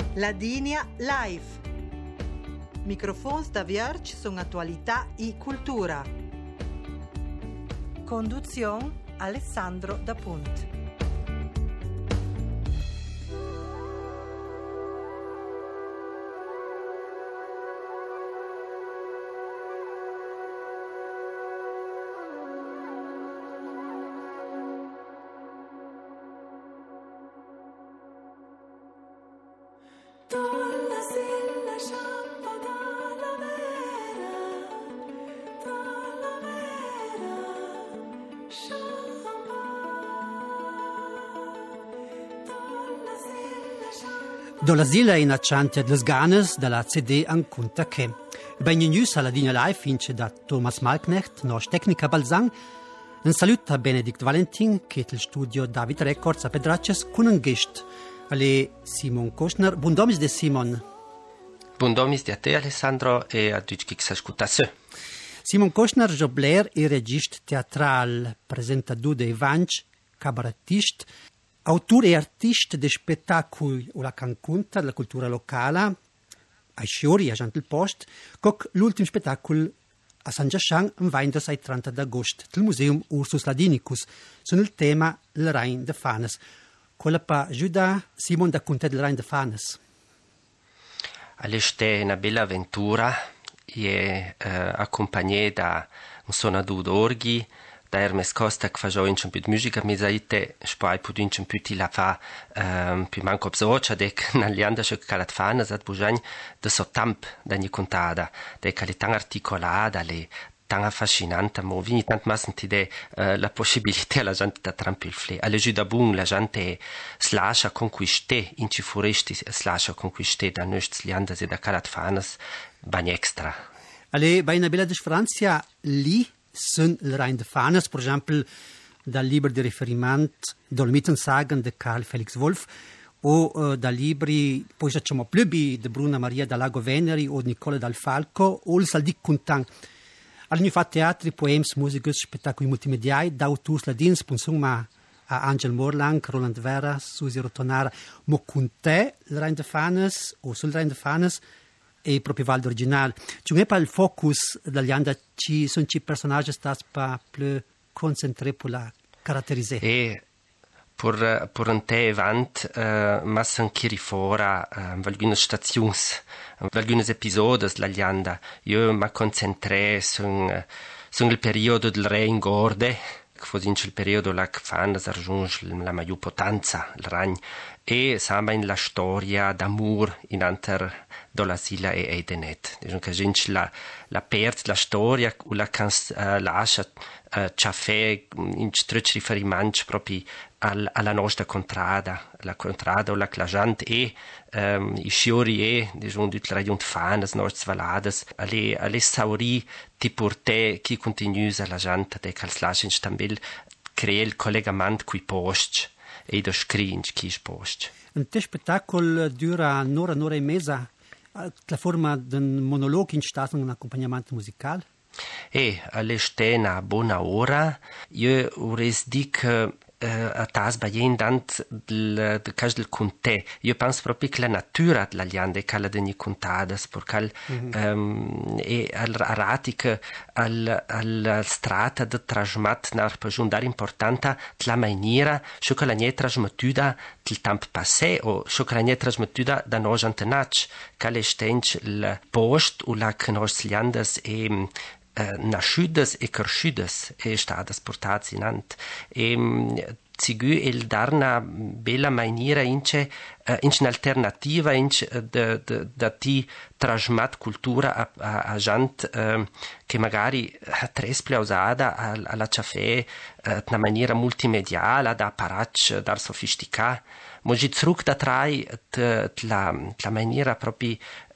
Ladinia Live. Microfons da Vierge sono attualità e cultura. Conduzione Alessandro Da Punt. Do l'asilo in acciante ad les ganes dalla CD Ancunta che. Ben in news alla Ladinia Live vince da Thomas Malknecht, nos tecnica Balzan. Un saluto a Benedict Valentin, che è il studio David Records a Pedracces, con un guest. Ale Simon Koschner. Buon domis de Simon. Buon domis di a te, Alessandro, e a tutti che si ascoltasse. Simon Koschner, jobler e regista teatral, presentador de Evanch, cabarettist, autor e artista di spettacoli o la canconta della cultura locale, ai Sciori, a Gentil Post, con l'ultimo spettacolo a San Giascian, in Weinders ai 30 d'agosto, del Museum Ursus Ladinicus, sono il tema del Rhein de Fanes. Quella pa Giuda Simon da Conte del Rhein de Fanes. All'este una bella avventura, e accompagné da un suonatore d'orghi, da Hermes Costa che faceva un po' di musica mesaite, poi poi un po' di la fa più manco obsocia dec nell'anda che calat fana zat bujagn de sottamp da ni contata, de che tan articolata, le tan affascinante, mo vini tant mas sentide la possibilità la gente da trampilfle. Alle giù da bun la gente slascia conquiste, in ci foresti slascia conquiste da nostri lianda e da calat fanas bagn extra. Alle bei una bella differenza lì sunt il Rhein de Fanes, per esempio, dal libro di riferimento Dolomitensagen di Karl Felix Wolf o da libri, poi facciamo più di Bruna Maria da Lago Veneri o di Nicola Dal Falco o il Saldic Contan. Hanno fatto teatri, poems, musica, spettacoli multimediali, da autori ladins, insomma, a Angel Morlang, Roland Vera, Susi Rotonara, ma con te, il Rhein de Fanes o sul Rhein de Fanes, e proprio Val d'Original. Ci non è pas il focus dagli anni, ci sono i personaggi stati più concentrati per la caratterizzare. E per un te event, ma anche fuori, alcune stazioni, alcuni episodi dagli anni. Io mi concentré sul periodo del Re in Gorde, che fu il periodo là che fanno raggiunge la maggior potenza, il Ragno, e samba in la storia d'amore in anter dola sila e Edenet. Diciamo che gente la perde la storia o la lascia ciafè in stretch riferimento proprio alla nostra contrada, la contrada o la clajante e i sciori e diciamo tutte le regioni fanas, nostre valades, alle sauri ti porte chi continua la gente de calslaschen stambil crea il collegamento qui post e da scringe chi post. Un te spettacolo dura un'ora e mezza, la forma di un monologo in stato un accompagnamento musicale? E all'este una buona ora, io vorrei dire che a tas baien dant del cas del conte. Io penso proprio che la natura della lianda è cala de ni contadas, perché e al ratic al strata de trasmat nar pajundar importante la maniera scio che la nie trasmetuda del temp passé o scio che la nie trasmetuda da nos antenac, che le stench il post o la che nos liandas e nasciudas e cresciudas e stadas portats in ant e zigu el dar una bella maniera ince un'alternativa da ti trasmat cultura a gent che magari tresple usata alla ciafè una maniera multimediale da apparatch da sofisticà mogi zurück da trai la maniera proprio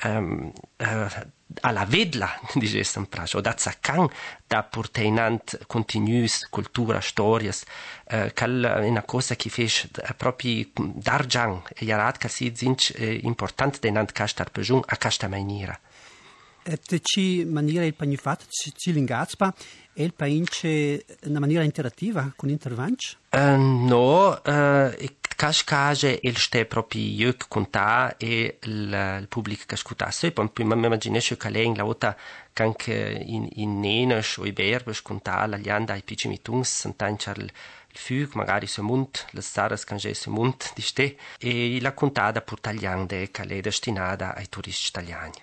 alla vedla, dicesse un prazo, o da zaccan, da portainant continuus cultura, storias, cal è una cosa che fece proprio d'argian, e iarat che si zinc importante denant castar pejun a casta maniera. Et ci maniera il pagnifat, ci lingazpa, e il paince una maniera interattiva con intervanch? No, cascage il ste proprio io conta e il pubblico che ascoltasse poi mi immaginesce che lei in la volta che anche in nenes o i berbes conta la lianda ai piccini tuns sent'anchar il fug magari se munt le saras cange se munt di ste e la contata per tagliande che è destinata ai turisti italiani.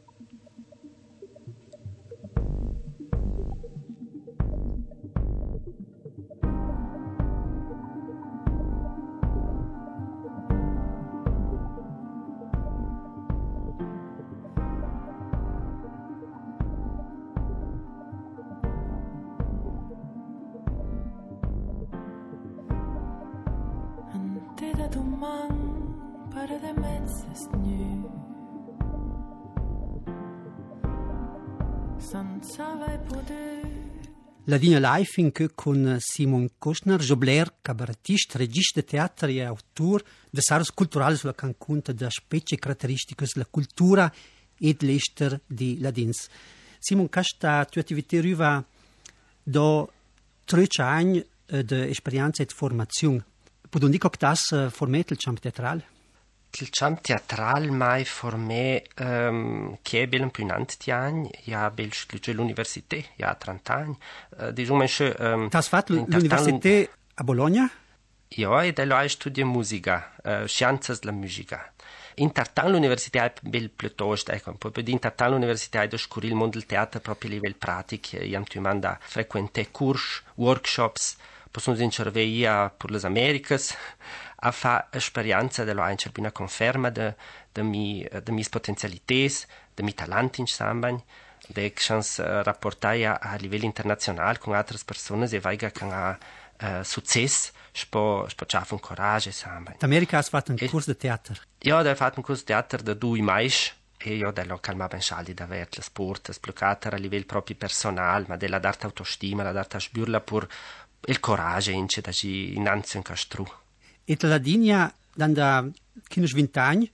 La Dina Life con Simon Kostner, jobler, cabaretist, regista de teatro e autor de saras culturali sulla canconta de specie caratteristiche della cultura e dell'ester di Ladins. Simon, questa tua attività arriva da 13 anni di esperienza e formazione. Posso dire che das formato il campo teatrale? Il campo teatrale mai formé che è ben più in tanti anni, ja bel l'università, ja 30 anni. Diciamo che has fatto l'università a Bologna? Ja, e da ho studiato musica, scienze della musica. In tartan l'università è bel piuttosto, ecco, poi in tartan l'università è da scoprire il mondo del teatro proprio a livello pratico, io mi mando a frequentare corsi, workshops, possono intervenire per le Americhe, a fare esperienza della una conferma de mie potenzialità, de mie talenti insomma, de chance rapportare a livello internazionale con altre persone e veiga che ha successo, spo c'ha un coraggio insomma. In America has fatto un corso di teatro? Io ho fatto un corso di teatro da 2 mesi e io ho calmato ben scialdi da avere le sport, sbloccate a livello proprio personale, ma della d'arte autostima, la d'arte sburla per il coraggio in da ci innanzi in castru. E la Dinia, da 20 anni,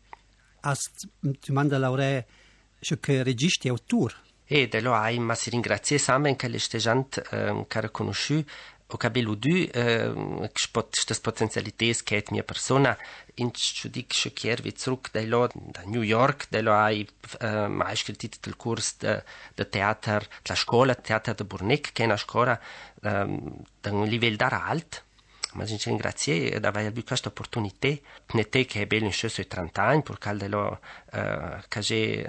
ti manda laurea che regista e autore. E da lo hai, ma si ringrazia sempre che le stagenti che ha conosciuto o che abbiamo queste potenzialità che è mia persona, in giudice che vi zurück da New York, da lo hai mai scritto il corso di teatro, la scuola teatro di Burnick, che è una scuola da un livello alto. Ma ci ringrazio di aver avuto questa opportunità. Ne te che è bello in sui 30 anni, perché che c'è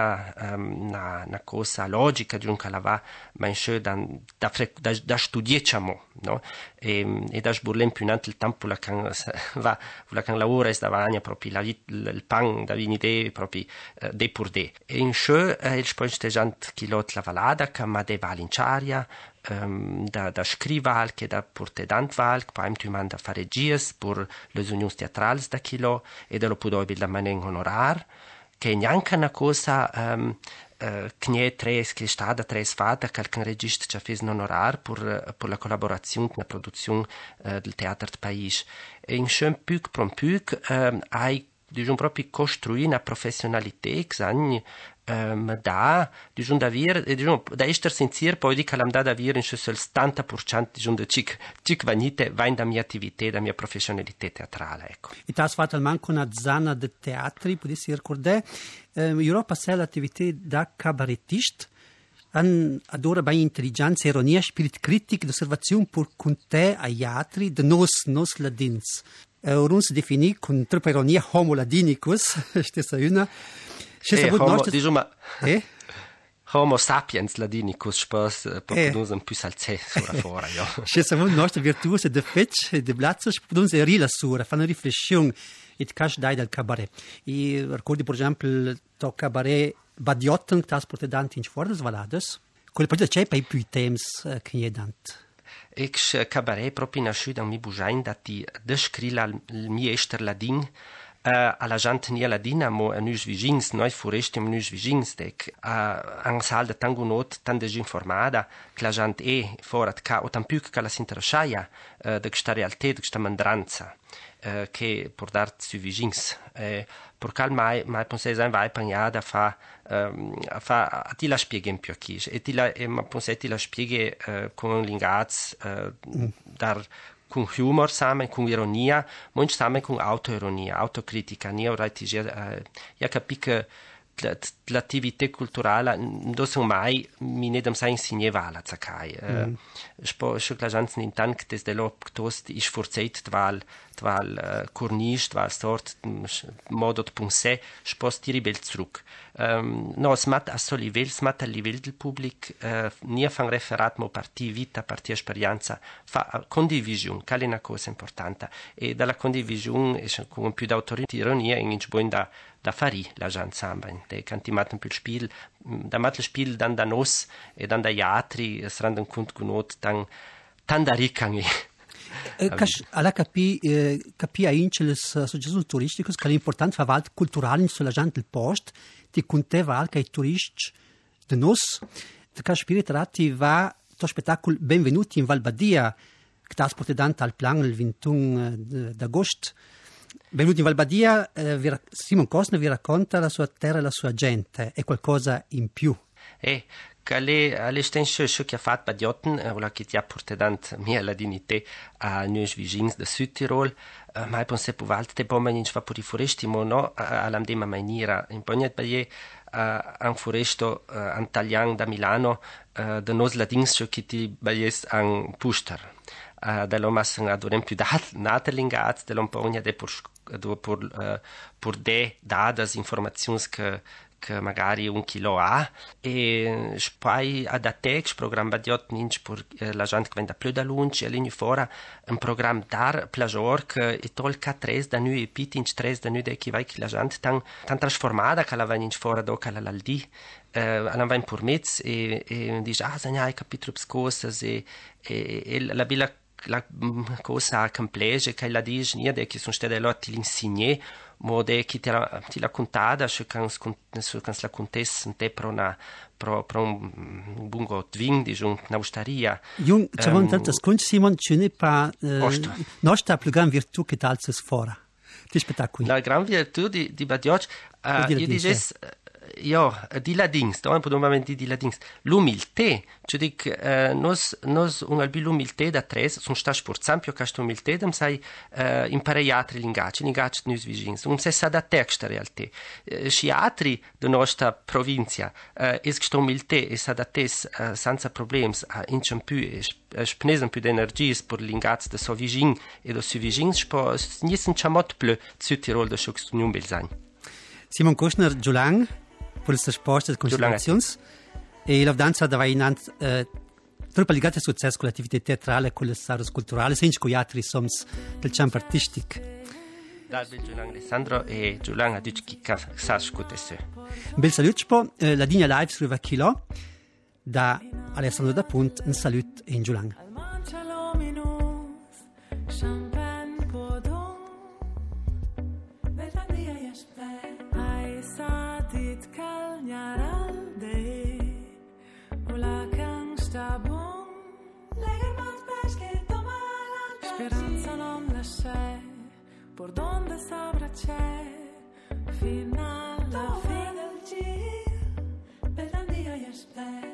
una cosa logica di un calava, ma in da studiare, no? E da sburlare più in il tempo la can lavora e stavagna proprio il pan da vinite proprio de pur de. E in il sponsteggiante chilot la valada che ma de valinciaria da scrival che da porte d'antvalk, poi tu manda a fare regies per le unioni teatrali da chilo e da lo puoi da manen honorar, che è neanche una cosa che ne è che è stata fatta, che il regista ci ha fatto un honorar per la collaborazione nella produzione del teatro del paese. E in scem più per più hai diciamo proprio costruire una professionalità che da diciamo da essere sincero poi di che l'am da avere in il 70% diciamo da cic vanite va in da mia attività da mia professionalità teatrale ecco. E tu hai fatto anche una zona di teatri, potessi ricordare Europa c'è l'attività da cabarettista adora bei intelligenza, ironia, spirit critic, d'osservazione per con te agli altri de nos ladins. Orun si definì con troppa ironia homo ladinicus, stessa una. Homo sapiens ladinicus, spos popudus un più salzè sura fora, io. C'è savun nostra virtuose de fetch e de blazzos, popudus e rila sura, fanno riflessione, et cash dai dal cabaret. E ricordi, per esempio, il cabaret Badiotten, che ha portato danti in fuori das valades, quelle poi c'è per i più temps che è dant. Ex cabaret proprio nasciuto da mi bujain da ti descrila il mio ester ladin alla gente nia ladina mo a nus vigins noi foresti nus vigins dec an sal de tango not tan desinformada che la gente è forat ca o tan più che la si interessaia de questa realtà de questa mandranza che per dar su vigins per cal mai pensai sein vai pagnada a ti la spieghe in più chi e ti la ma pensai ti la spieghe con l'ingaz dar con humor samen, con ironia, manch samen con autoironia, autocritica. Io capisco che l'attività culturale non sono mai mi nedam sai insignevala zacai. Spo la gens nintan che des lo tost is forzeit tval cornisch tval sort modo de pensé spost die bel zurück. No smat a livel del public nie fan referat mo parti vita parti esperienza fa condivisione che è una cosa importante e dalla condivisione con più d'autoironia in buon da fari la gente samba de cantimat un più spiel da mat spiel dann da nos e dann da teatri es randen kund gunot dann da ricangi alla capi a inceles associazioni turistiche che l'importante fa valt culturale sulla gente del post ti conteva anche i turisti de nos de ca spirit ratti va to spettacolo benvenuti in Val Badia che trasporta dante al plan il 21 d'agosto. Benvenuti in Val Badia, Simon Cosner vi racconta la sua terra e la sua gente, è qualcosa in più. Alle stesse che ha fatto Badiotten, che ti ha portato mia la dignità a noi vicini del Sud Tirol, ma penso che volte poi non fa per i foresti, ma no, alla stessa maniera. In Pognet Baie, un foresto italiano da Milano, da nos ladins che ti baies un puster. Dell'ho messo adorem più naterlingats, dell'ho pogna de por de dadas informazioni che magari un chilo ha e poi ad atex programma diot ninch per la gente che vende più da lunch e lì fuori un programma dar plajor che e tolca 3 da noi e pitinch 3 da noi de che vai che la gente tan trasformata che la va ninch fuori do che la di alla va in purmez e dice sai capitolo cosas e la bella la cosa complessa che la dice niente che sono state là ti l'insigne ma de che ti la contata su che la contessa te pro un bungo twing di un'austeria Jung c'avon tanto scunch Simon ce n'est pas nostra più gran virtù che talzes fora ti spettacoli la gran virtù di Badiocch io dices di ladins, da un po' di ladins. L'umiltà, cioè dic, nos un albi l'umiltà da tres, sono sta sforzando che sta umiltà, dem sai imparare altri linguaggi nus vicins. Un se sa da text realtà. Sci altri da nostra provincia, es sta umiltà e sa da tes senza problemi, incem più spnesen più energie per linguaggi da so vicin e da su vicins, spo niesen chamot plö Süd Tirol da scho nun bel sein. Simon Cosner Giulang per questa risposta e considerazioni e la danza da vai innanzi troppo legata al successo con l'attività teatrale e con le arti culturali senza con gli altri soms del campo artistico Dalbe Giulang Alessandro e Giulang a dici che sa scutesse un bel saluto la linea live scrive a Chilo da Alessandro da Punt un saluto in Giulang Speranza non la c'è, por donde sabrà c'è, fino alla fine del giro, per tanti io aspetto.